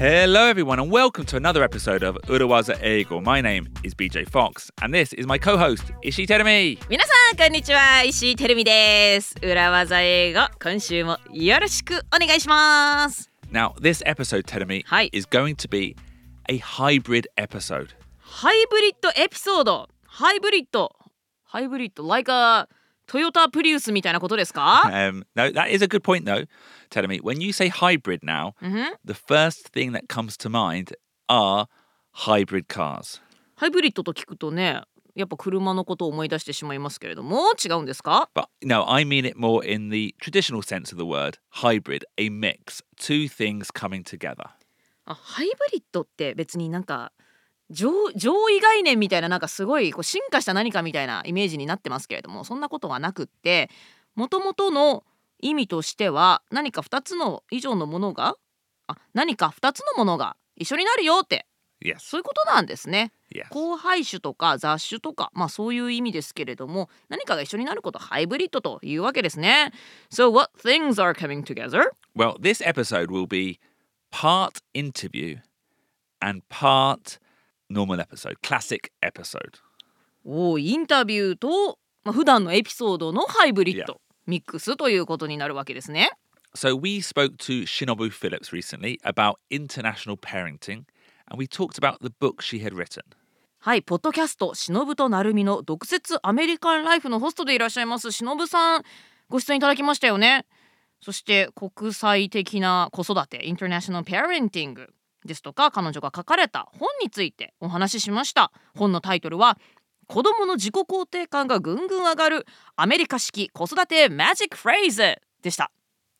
Hello everyone and welcome to another episode of Urawaza Eigo. My name is BJ Fox and this is my co-host Ishii Terumi. 皆さんこんにちは、石井てるみです。裏技英語、今週もよろしくお願いします。 Now this episode, Terumi, はい。 is going to be a hybrid episode. ハイブリッドエピソード。ハイブリッド like a Toyota Prius みたいなことですか？ No, that is a good point though, Terumi. When you say hybrid now, the first thing that comes to mind are hybrid cars. ハイブリッドと聞くとね、やっぱ車のことを思い出してしまいますけれども、違うんですか？ But no, I mean it more in the traditional sense of the word, hybrid, a mix, two things coming together. ハイブリッドって別になんか上位概念みたいな、なんかすごいこう進化した何かみたいなイメージになってますけれども、そんなことはなくって、もともとの意味としては何か2つの以上のものが何か2つのものが一緒になるよって、 Yes. そういうことなんですね。 Yes. 交配種とか雑種とか、そういう意味ですけれども、何かが一緒になることをハイブリッドというわけですね。 So what things are coming together? Well, this episode will be part interview and part normal episode, classic episode. インタビューと、普段のエピソードのハイブリッド、 Yeah. ミックスということになるわけですね。 So we spoke to Shinobu Phillips recently about international parenting and we talked about the book she had written. はい、ポッドキャストしのぶとなるみの独説アメリカンライフのホストでいらっしゃいますしのぶさん、ご出演いただきましたよね。そして国際的な子育て、インターナショナルパレンティングですとか、彼女が書かれた本についてお話ししました。本のタイトルは子どもの自己肯定感がぐんぐん上がるアメリカ式子育てマジックフレーズでした。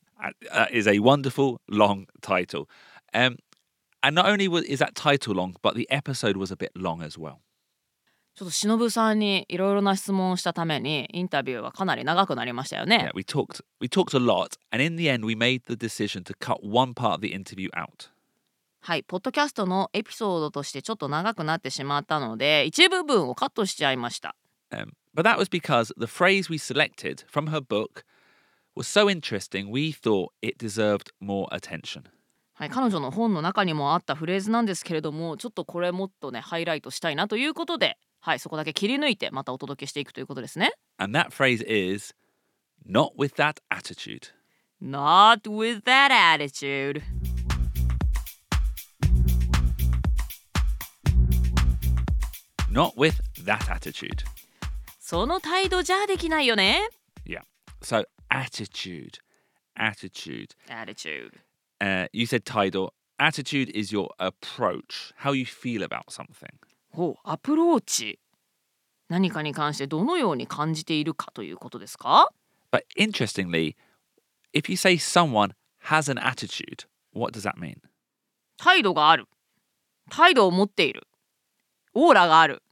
That is a wonderful long title. And not only is that title long, but the episode was a bit long as well. ちょっとしのぶさんにいろいろな質問をしたためにインタビューはかなり長くなりましたよね。 Yeah, we talked a lot and in the end we made the decision to cut one part of the interview out. はい、ポッドキャストのエピソードとしてちょっと長くなってしまったので、一部分をカットしちゃいました。 But that was because the phrase we selected from her book was so interesting we thought it deserved more attention. はい、彼女の本の中にもあったフレーズなんですけれども、ちょっとこれもっとねハイライトしたいなということで、はい、そこだけ切り抜いてまたお届けしていくということですね。 And that phrase is not with that attitude. Not with that attitude. Not with that attitude. その態度じゃできないよね。 Yeah. So attitude. Attitude. You said Tidal. Attitude is your approach, how you feel about something. アプローチ。何かに関してどのように感じているかということですか？ But interestingly, if you say someone has an attitude, what does that mean? 態度がある。態度を持っている。オーラがある。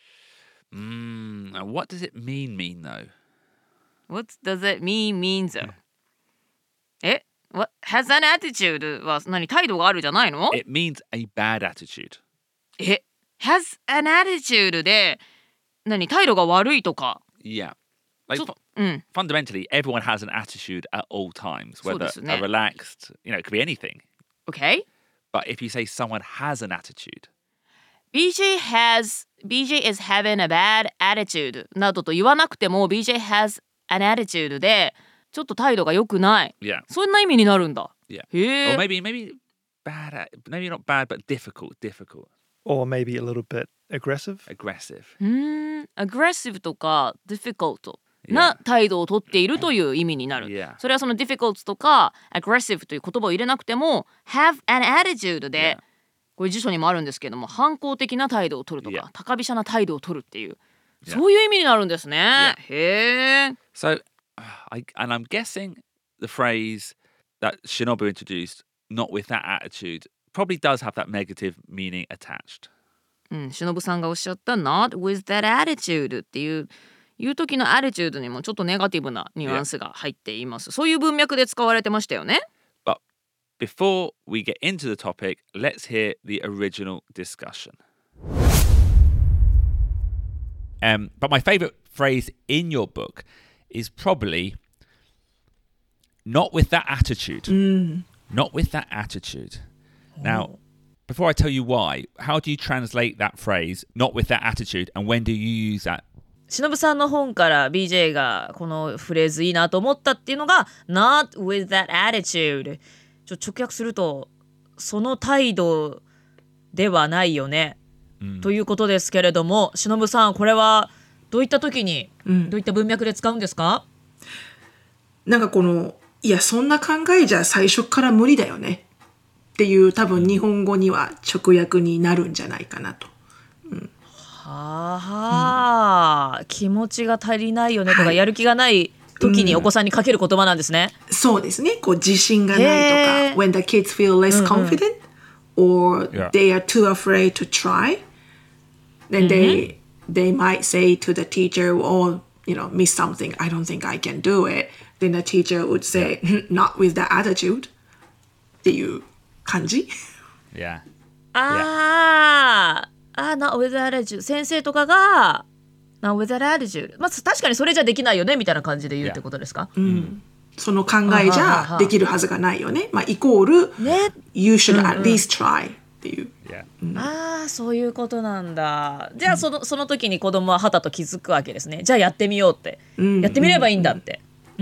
What does it mean though? What does it mean though? What has an attitude は態度があるじゃないの？ It means a bad attitude. has an attitude で態度が悪いとか。 Yeah. Like fundamentally, everyone has an attitude at all times, そう whether ですね。 a relaxed, it could be anything. Okay? But if you say someone has an attitude, BJ is having a bad attitude などと言わなくても BJ has an attitude でちょっと態度が良くない。 yeah, そんな意味になるんだ。 yeah. へ Or え。 maybe bad, maybe not bad, but difficult. Or maybe a little bit aggressive. Aggressive. aggressive とか difficult な態度をとっているという意味になる。 Yeah. それはその difficult とか aggressive という言葉を入れなくても have an attitude で、 Yeah. これ辞書にもあるんですけども、反抗的な態度を取るとか、 Yeah. 高飛車な態度を取るっていう、 Yeah. そういう意味になるんですね。 Yeah. へえ。 So, and I'm guessing the phrase that Shinobu introduced, not with that attitude, probably does have that negative meaning attached. しのぶさんがおっしゃった not with that attitude っていう時の attitude にもちょっとネガティブなニュアンスが入っています。そういう文脈で使われてましたよね。 But before we get into the topic, let's hear the original discussion. But my favorite phrase in your book is probably not with that attitude. Not with that attitude. Now, before I tell you why, how do you translate that phrase, not with that attitude, and when do you use that? しのぶさんの本から BJ がこのフレーズいいなと思ったっていうのが Not with that attitude 直訳するとその態度ではないよね、ということですけれども、しのぶさんこれはどういった時に、どういった文脈で使うんですか？ なんかいやそんな考えじゃ最初から無理だよねっていう多分日本語には直訳になるんじゃないかなと。 はあ、気持ちが足りないよねとか、やる気がない時にお子さんにかける言葉なんですね。 そうですね。自信がないとか、when the kids feel less confident or they are too afraid to try, then they might say to the teacher, "Oh, miss something. I don't think I can do it." Then the teacher would say, "Not with that attitude." っていう感じ。 Yeah. Not with that attitude 先生とかが Not with that attitude 確かにそれじゃできないよねみたいな感じで言うってことですか？ その考えじゃできるはずがないよね。イコール、You should at least try っていう。 そういうことなんだ。じゃあその時に子供ははたと気づくわけですね。じゃあやってみようって、やってみればいいんだって。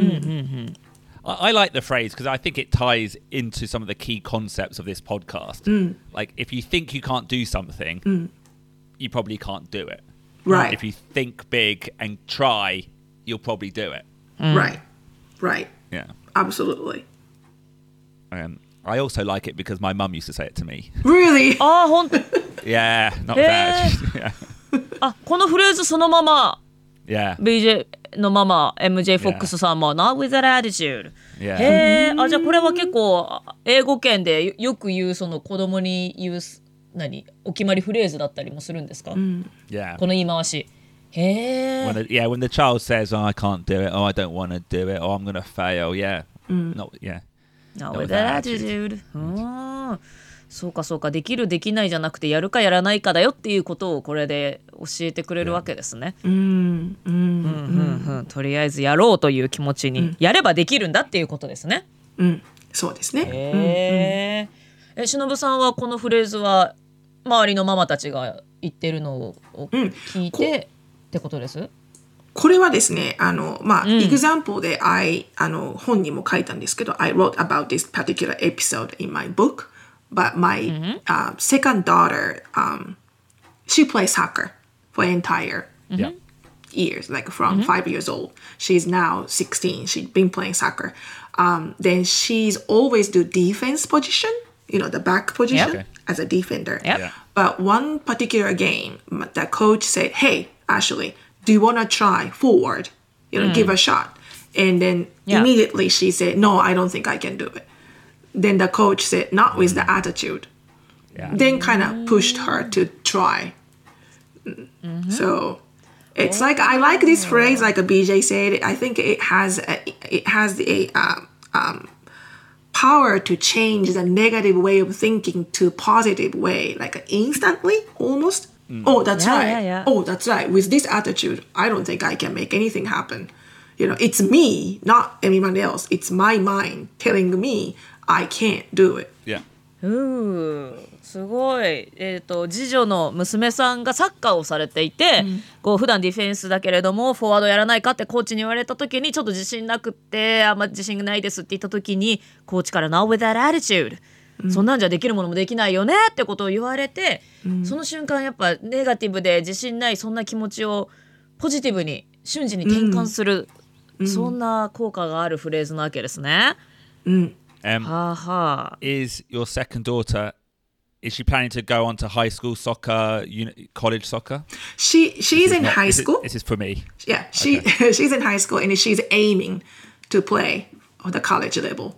I like the phrase because I think it ties into some of the key concepts of this podcast. Like if you think you can't do something, you probably can't do it. Right. If you think big and try, you'll probably do it. Right. Yeah. Absolutely. I also like it because my mum used to say it to me. Really? 本当。 Yeah, not bad. Yeah. このフレーズそのまま Yeah. BJ のママ MJ フォックスさんも Not with that attitude。 Yeah. じゃあこれは結構英語圏でよく言うその子供に言うお決まりフレーズだったりもするんですか？ Yeah. この言い回し。 When the child says, "Oh, I can't do it," "Oh, I don't want to do it," "Oh, I'm going to fail," yeah. Not with that attitude. そうかできるできないじゃなくてやるかやらないかだよっていうことをこれで教えてくれるわけですね。とりあえずやろうという気持ちに、やればできるんだっていうことですね。 そうですね。 しのぶさんはこのフレーズは周りのママたちが言ってるのを聞いてってことです？ これはですね、example で本にも書いたんですけど、I wrote about this particular episode in my book, but my second daughter, she plays soccer for entire years, like from 5 years old. She's now 16. She's been playing soccer. Then she's always do defense position, the back position as a defender. But one particular game, the coach said, "Hey, Ashley, do you want to try forward? Give a shot." And then immediately she said, "No, I don't think I can do it." Then the coach said, "Not with the attitude." Then kind of pushed her to try. So it's like, I like this phrase, like a BJ said. I think it has the power to change the negative way of thinking to positive way, like instantly, almost. Oh, that's right. Oh, that's right. With this attitude, I don't think I can make anything happen. It's me, not anyone else. It's my mind telling me I can't do it. Yeah. すごい。次女の娘さんがサッカーをされていて、普段ディフェンスだけれどもフォワードやらないかってコーチに言われた時にちょっと自信なくってあんま自信がないですって言った時にコーチから Not with that attitude、そんなんじゃできるものもできないよねってことを言われて、その瞬間やっぱネガティブで自信ないそんな気持ちをポジティブに瞬時に転換する、そんな効果があるフレーズなわけですね。 Is your second daughter, is she planning to go on to high school soccer, college soccer? She's in high school. This is for me. Yeah, she's in high school and she's aiming to play on the college level.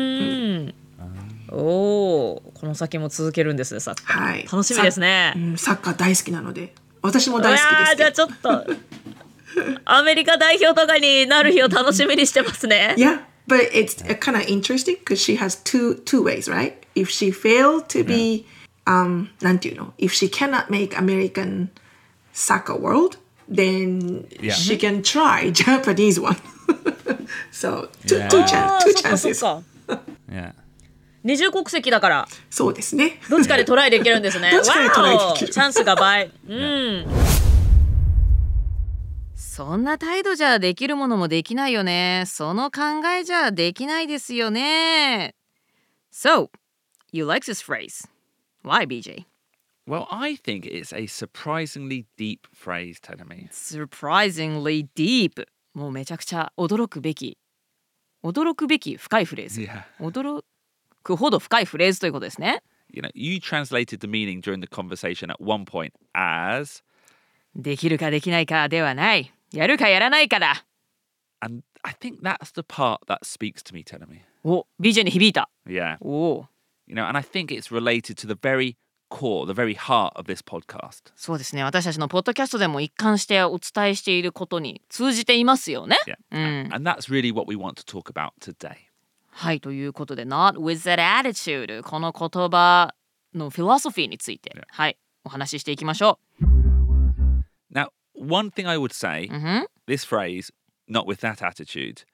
この先も続けるんですね、サッカー。 はい、 楽しみですね。 サッカー大好きなので、私も大好きです。 じゃあちょっとアメリカ代表とかになる日を楽しみにしてますね。 Yeah, but it's kind of interesting because she has two ways, right? If she failed to be, なんていうの? If she cannot make American soccer world, then she can try Japanese one. So two chances. Yeah. 二重国籍だからそうですね。 どっちかでトライできるんですね。 どっちかでトライできる。 チャンスが倍。そんな態度じゃできるものもできないよね。その考えじゃできないですよね。So, you like this phrase. Why, BJ? Well, I think it's a surprisingly deep phrase, Tenemi. Surprisingly deep. もうめちゃくちゃ驚くべき深いフレーズ。 Yeah. 驚くほど深いフレーズということですね。 You know, you translated the meaning during the conversation at one point as できるかできないかではない。やるかやらないかだ。 and I think that's the part that speaks to me, Tenemi. お、BJ に響いた。 Yeah. お、 You know, and I think it's related to the very core, the very heart of this podcast. そうですね。私たちのポッドキャストでも一貫してお伝えしていることに通じていますよね。 Yeah. And that's really what we want to talk about today. はい、ということで Not with that attitude この言葉のフィロソフィーについて、はい、お話ししていきましょう。 Now, one thing I would say, this phrase, not with that attitude,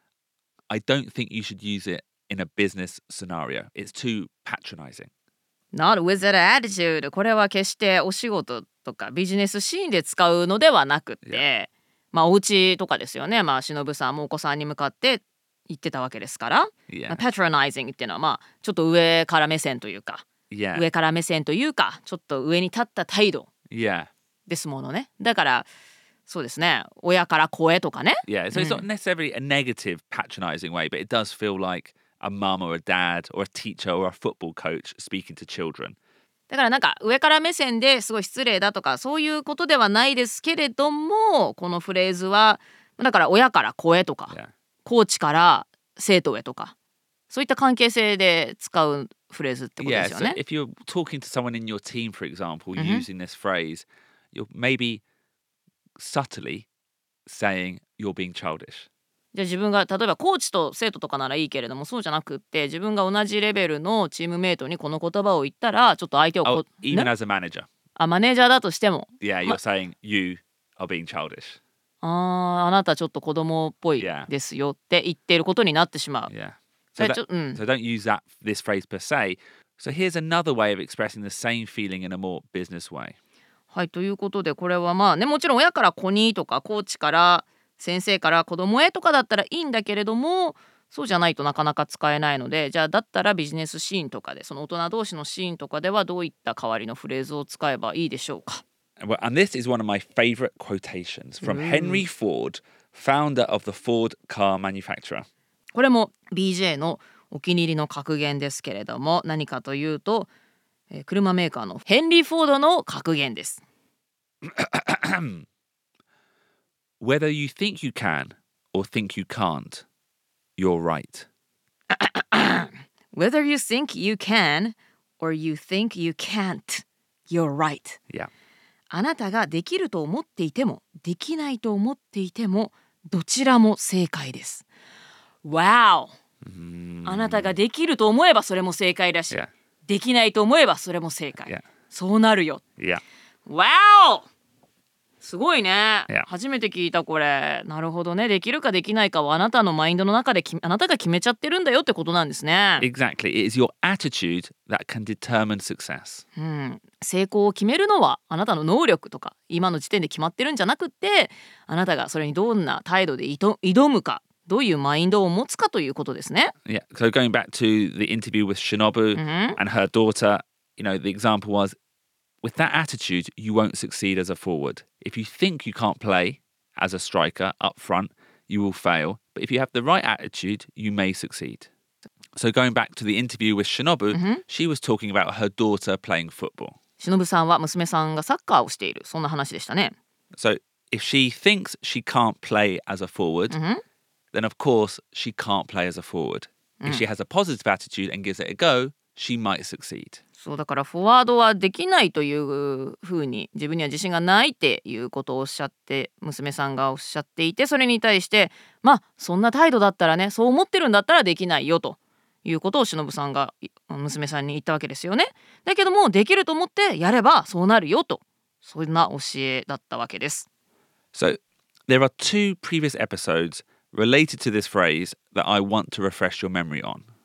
I don't think you should use it in a business scenario. It's too patronizing. Not with that attitude これは決してお仕事とかビジネスシーンで使うのではなくて、まあお家とかですよね。まあ忍さんもお子さんに向かって言ってたわけですから、まあ、patronizing っていうのはまあちょっと上から目線というか、上から目線というかちょっと上に立った態度ですものね。だからそうですね、親から子へとかね。 Yeah, so it's not necessarily a negative patronizing way, but it does feel like a mum or a dad or a teacher or a football coach speaking to children. だからなんか上から目線ですごい失礼だとかそういうことではないですけれども、このフレーズはだから親から子へとか、コーチから生徒へとかそういった関係性で使うフレーズってことですよね。 So if you're talking to someone in your team, for example, using this phrase, you're maybe subtly saying you're being childish. じゃあ自分が例えばコーチと生徒とかならいいけれども、そうじゃなくって自分が同じレベルのチームメイトにこの言葉を言ったらちょっと相手を even as a manager. マネージャーだとしても Yeah, you're saying you are being childish. あなたちょっと子供っぽいですよって言っていることになってしまう。 Yeah. So don't use this phrase per se. So here's another way of expressing the same feeling in a more business way. はい、ということでこれはまあね、もちろん親から子にとかコーチから先生から子供へとかだったらいいんだけれども、そうじゃないとなかなか使えないので、じゃあだったらビジネスシーンとかでその大人同士のシーンとかではどういった代わりのフレーズを使えばいいでしょうか。 Well, and this is one of my favorite quotations from Henry Ford, founder of the Ford car manufacturer. これも BJ のお気に入りの格言ですけれども、何かというと、車メーカーのヘンリー・フォードの格言です。 Whether you think you can or think you can't, you're right. Whether you think you can or you think you can't, you're right. Yeah. あなたができると思っていてもできないと思っていてもどちらも正解です。Wow! あなたができると思えばそれも正解だし、できないと思えばそれも正解。そうなるよ。Wow! すごいね。初めて聞いたこれ。なるほどね。できるかできないかはあなたのマインドの中であなたが決めちゃってるんだよってことなんですね。 Exactly. It is your attitude that can determine success. 成功を決めるのはあなたの能力とか今の時点で決まってるんじゃなくってあなたがそれにどんな態度で挑むかどういうマインドを持つかということですね。 Yeah. So going back to the interview with Shinobu and her daughter, you know, the example was with that attitude, you won't succeed as a forward. If you think you can't play as a striker up front, you will fail. But if you have the right attitude, you may succeed. So going back to the interview with Shinobu, she was talking about her daughter playing football. 忍さんは娘さんがサッカーをしている、そんな話でしたね。 So if she thinks she can't play as a forward, then of course she can't play as a forward. If she has a positive attitude and gives it a go, she might succeed. そうだからフォワードはできないというふうに自分には自信がないっていうことをおっしゃって娘さんがおっしゃっていて、それに対してまあそんな態度だったらね、そう思ってるんだったらできないよということを忍さんが娘さんに言ったわけですよね。だけどもできると思ってやればそうなるよと、そんな教えだったわけです。 So there are two previous episodes related to this phrase that I want to refresh your memory on.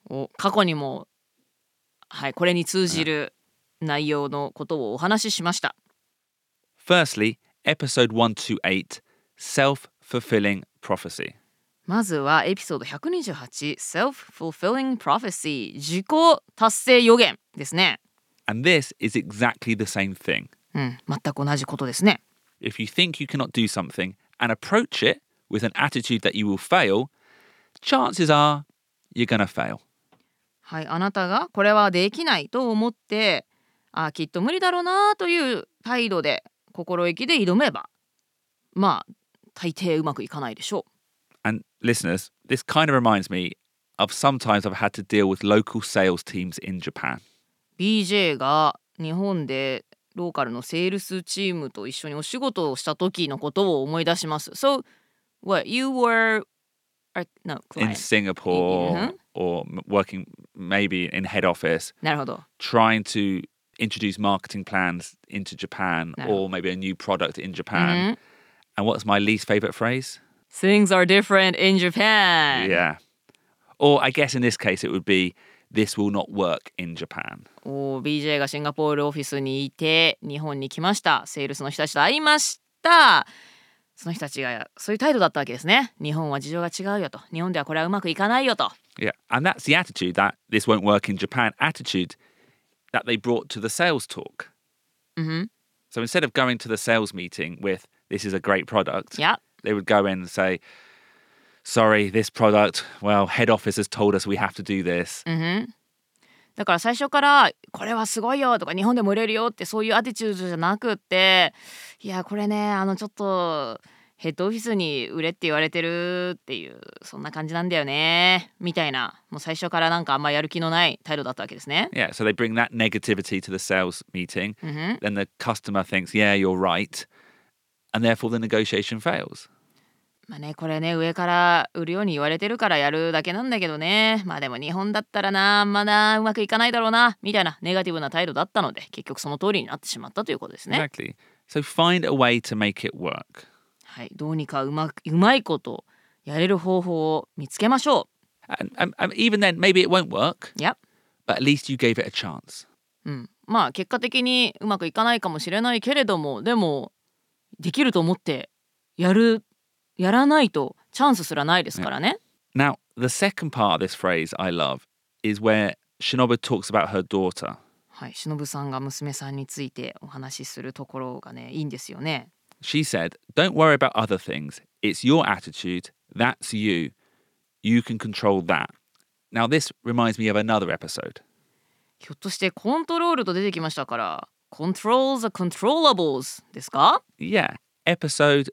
過去にも、はい、これに通じる内容のことをお話ししました。 Firstly, episode 128, self-fulfilling prophecy. まずはエピソード128 Self-fulfilling prophecy 自己達成予言ですね。 And this is exactly the same thing. 全く同じことですね。 If you think you cannot do something and approach it with an attitude that you will fail, chances are you're gonna fail. はい、あなたがこれはできないと思ってきっと無理だろうなという態度で心意気で挑めばまあ大抵うまくいかないでしょう。 And listeners, this kind of reminds me of sometimes I've had to deal with local sales teams in Japan. BJ が日本でローカルのセールスチームと一緒にお仕事をした時のことを思い出します。So, what, you were no, In client. Singapore or working maybe in head office, なるほど。 trying to introduce marketing plans into Japan or maybe a new product in Japan. And what's my least favorite phrase? Things are different in Japan. Yeah. Or I guess in this case it would be this will not work in Japan. BJ がシンガポールオフィスにいて日本に来ました。セールスの人たちと会いました。その人たちがそういう態度だったわけですね。日本は事情が違うよと。日本ではこれはうまくいかないよと。 Yeah. And that's the attitude that this won't work in Japan attitude that they brought to the sales talk. So instead of going to the sales meeting with this is a great product, Yeah. they would go in and say, sorry, this product, well, head office has told us we have to do this. だから最初からこれはすごいよとか日本でも売れるよってそういうアティチュードじゃなくっていやこれねちょっとヘッドオフィスに売れって言われてるっていうそんな感じなんだよねみたいなもう最初からなんかあんまやる気のない態度だったわけですね。 Yeah, so they bring that negativity to the sales meeting. Then the customer thinks, yeah, you're right. And therefore the negotiation fails. まあねこれね上から売るように言われてるからやるだけなんだけどねまあでも日本だったらなまだうまくいかないだろうなみたいなネガティブな態度だったので結局その通りになってしまったということですね。 Exactly. So find a way to make it work. はい、どうにかうまいことやれる方法を見つけましょ And even then, maybe it won't work, う。いや、 but at least you gave it a chance. まあ結果的にうまくいかないかもしれないけれどもでもできると思ってやらないとチャンスすらないですからね。 Now, the second part of this phrase I love is where Shinobu talks about her daughter. はい、忍さんが娘さんについてお話しするところがねいいんですよね。 She said, don't worry about other things. It's your attitude. That's you. You can control that. Now, this reminds me of another episode. ひょっとしてコントロールと出てきましたから Control the controllables ですか？ Yeah, episode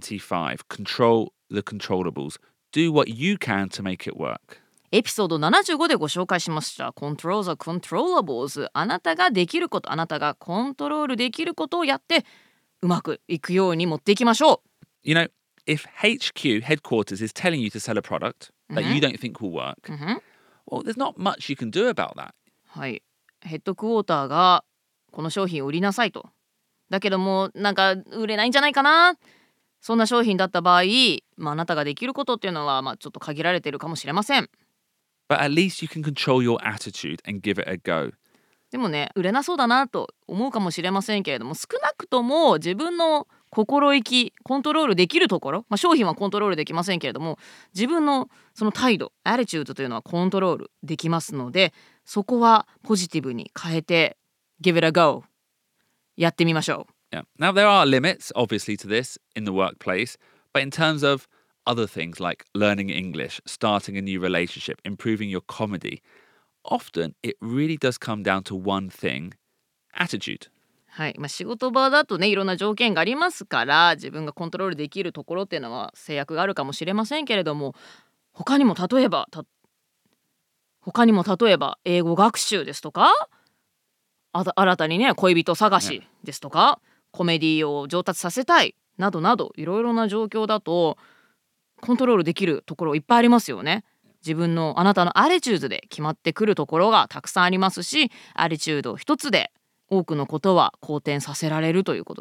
75. Control the controllables. Do what you can to make it work. エピソード75でご紹介しました Control the controllables あなたができることあなたがコントロールできることをやってうまくいくように持っていきましょう。 You know, if HQ, headquarters, is telling you to sell a product that you don't think will work, well, there's not much you can do about that. はい、ヘッドクォーターがこの商品を売りなさいと。だけどもなんか売れないんじゃないかな。そんな商品だった場合、あなたができることっていうのはちょっと限られているかもしれません。 But at least you can control your attitude and give it a go. でもね売れなそうだなと思うかもしれませんけれども少なくとも自分の心意気コントロールできるところ、商品はコントロールできませんけれども自分のその態度アティチュードというのはコントロールできますのでそこはポジティブに変えて Give it a go やってみましょう。 Yeah. Now, there are limits, obviously, to this in the workplace, but in terms of other things like learning English, starting a new relationship, improving your comedy, often it really does come down to one thing, attitude. はい、仕事場だとねいろんな条件がありますから自分がコントロールできるところっていうのは制約があるかもしれませんけれども他にも例えば英語学習ですとか新たにね恋人探しですとか、コメディを上達させたいなどなどいろいろな状況だとコントロールできるところいっぱいありますよね。自分のあなたのアティチュードで決まってくるところがたくさんありますしアティチュード一つで多くのことは好転させられるということです。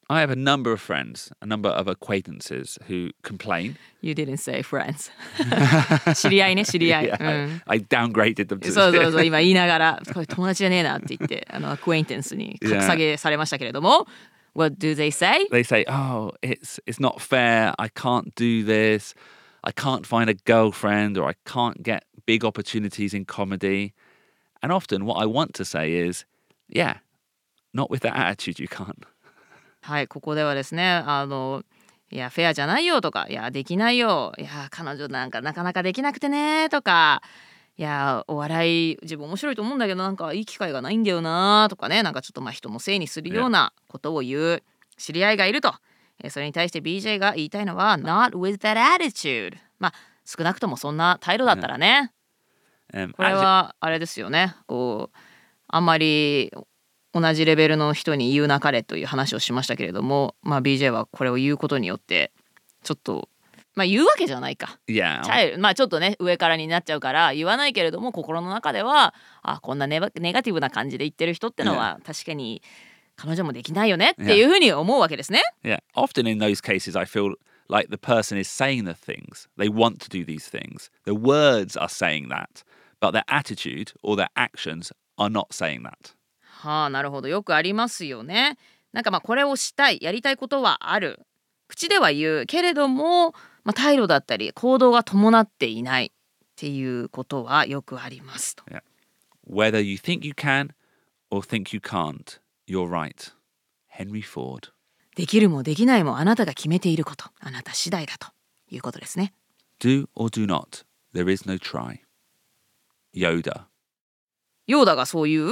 I have a number of friends, a number of acquaintances who complain. You didn't say friends. 知り合いね、知り合い。 Yeah, I downgraded them to そうそうそう、今言いながら、これ友達じゃねえなって言って、acquaintance に格下げされましたけれども。What do they say? They say, oh, it's not fair. I can't do this. I can't find a girlfriend or I can't get big opportunities in comedy. And often what I want to say is, yeah, not with that attitude you can't. はい、ここではですね、いや、フェアじゃないよとか、いや、できないよ。いや、彼女なんかなかなかできなくてねとか、いや、お笑い自分面白いと思うんだけどなんかいい機会がないんだよなとかね、なんかちょっとまあ人のせいにするようなことを言う知り合いがいると。それに対して BJ が言いたいのは Not with that attitude。まあ少なくともそんな態度だったらね。これはあれですよね。こうあんまり同じレベルの人に言うなかれという話をしましたけれども、まあ BJ はこれを言うことによってちょっとまあ言うわけじゃないか。 Yeah. まあちょっとね上からになっちゃうから言わないけれども心の中ではこんなネガティブな感じで言ってる人ってのは確かに彼女もできないよねっていうふうに思うわけですね。 Yeah. Often in those cases I feel like the person is saying the things. They want to do these things. The words are saying that, but their attitude or their actions are not saying that. はあ、なるほど。よくありますよね。なんかまあこれをしたい、やりたいことはある。口では言うけれども、まあ、態度だったり行動が伴っていないっていうことはよくありますと。 Yeah. Whether you think you can or think you can't, you're right. Henry Ford. できるもできないもあなたが決めていること、あなた次第だということですね。 Do or do not, there is no try. Yoda. ヨーダがそういう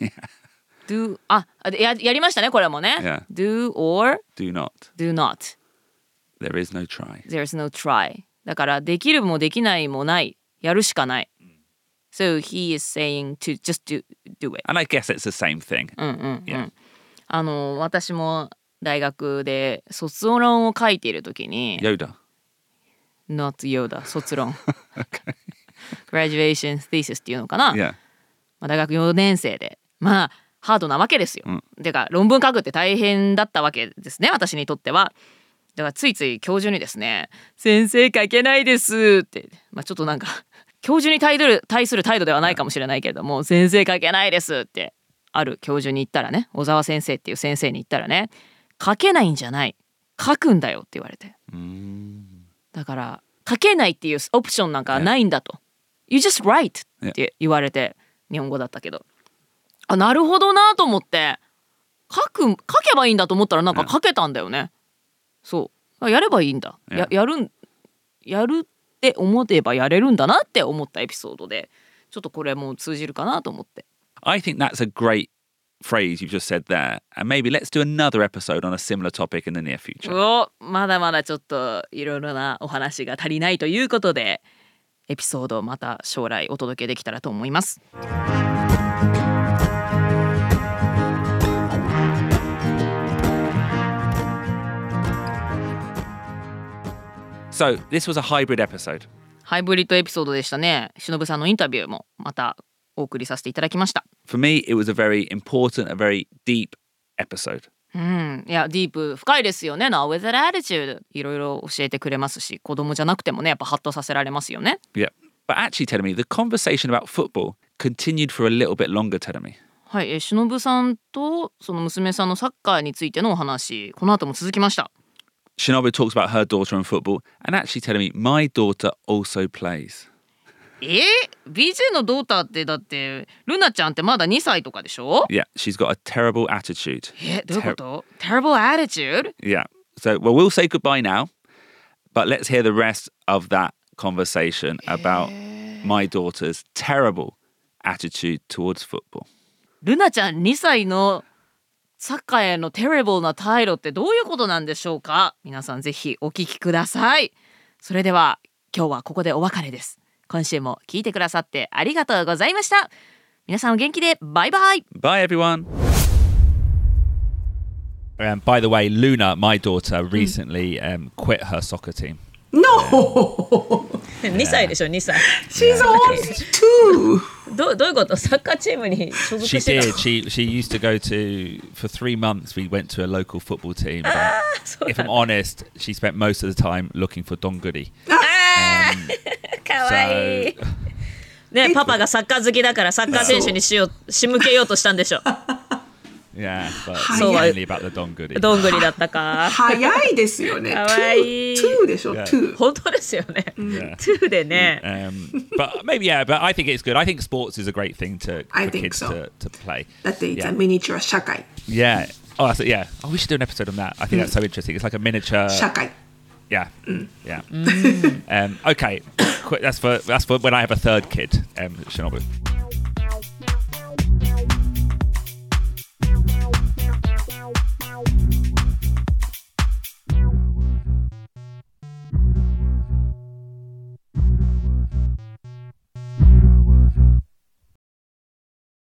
、do やりましたねこれもね。 Yeah. Do or Do not. do not. There is no try. There is no try. だからできるもできないもない。やるしかない。So he is saying to just do it. And I guess it's the same thing. Yeah. 私も大学で卒論を書いているときに Yoda. Not Yoda 卒論Graduation thesis っていうのかな、 Yeah. まあ、大学4年生でまあハードなわけですよ、てか論文書くって大変だったわけですね私にとっては。だからついつい教授にですね先生書けないですって、まあ、ちょっとなんか教授に対する態度ではないかもしれないけれども先生書けないですってある教授に言ったらね、小沢先生っていう先生に言ったらね、書けないんじゃない書くんだよって言われて、だから書けないっていうオプションなんかないんだと、You just write って言われて、日本語だったけどなるほどなと思って書けばいいんだと思ったらなんか書けたんだよね。そうやればいいんだ、やるって思えばやれるんだなって思ったエピソードで、ちょっとこれも通じるかなと思って。 I think that's a great phrase you've just said there. And maybe let's do another episode on a similar topic in the near future. まだまだちょっといろいろなお話が足りないということで、エピソードをまた将来お届けできたらと思います。 So this was a hybrid episode. ハイブリッドエピソードでしたね。忍さんのインタビューもまたお送りさせていただきました。 For me, it was a very important, a very deep episode. いや、ディープ深いですよね。Now with that attitude いろいろ教えてくれますし、子供じゃなくてもね、やっぱハッとさせられますよね。 Yeah. But actually, Terumi, the conversation about football continued for a little bit longer, Terumi. はい、忍さんとその娘さんのサッカーについてのお話、この後も続きました。 Shinobu talks about her daughter in football, and actually telling me my daughter also plays. BJ のドーターってだってルナちゃんってまだ2歳とかでしょ？ Yeah, she's got a terrible attitude. どういうこと？ Terrible attitude? Yeah. So, well, we'll say goodbye now, but let's hear the rest of that conversation about my daughter's terrible attitude towards football. ルナちゃん2歳のサッカーへのテレブルな態度ってどういうことなんでしょうか？皆さんぜひお聞きください。それでは今日はここでお別れです。今週も聞いてくださってありがとうございました。皆さんお元気でバイバイ。 Bye everyone. By the way, Luna, my daughter, recently quit her soccer team. No! 2歳でしょ、2歳。 She's only 2 Ooh. どういうこと？サッカーチームに所属 She してた did. の？ She used to go to for 3 months. We went to a local football team. But そう if I'm honest, she spent most of the time looking for donguri. かわいい。ね、パパがサッカー好きだからサッカー選手に仕向けようとしたんでしょ。 Yeah, but So, mainly about the donguri. どんぐりだったか。 早いですよね。 かわいい。 two でしょ、 Yeah. two。 本当ですよね。 Yeah. 2でね。 But maybe but I think it's good. I think sports is a great thing I for think kids so. to play. だって、it's Yeah. a miniature 社会。 Yeah. Oh, yeah. Oh, we should do an episode on that. I think that's so interesting. It's like a miniature. 社会。 Yeah. Yeah. Okay. That's for when I have a third kid, Shinobu.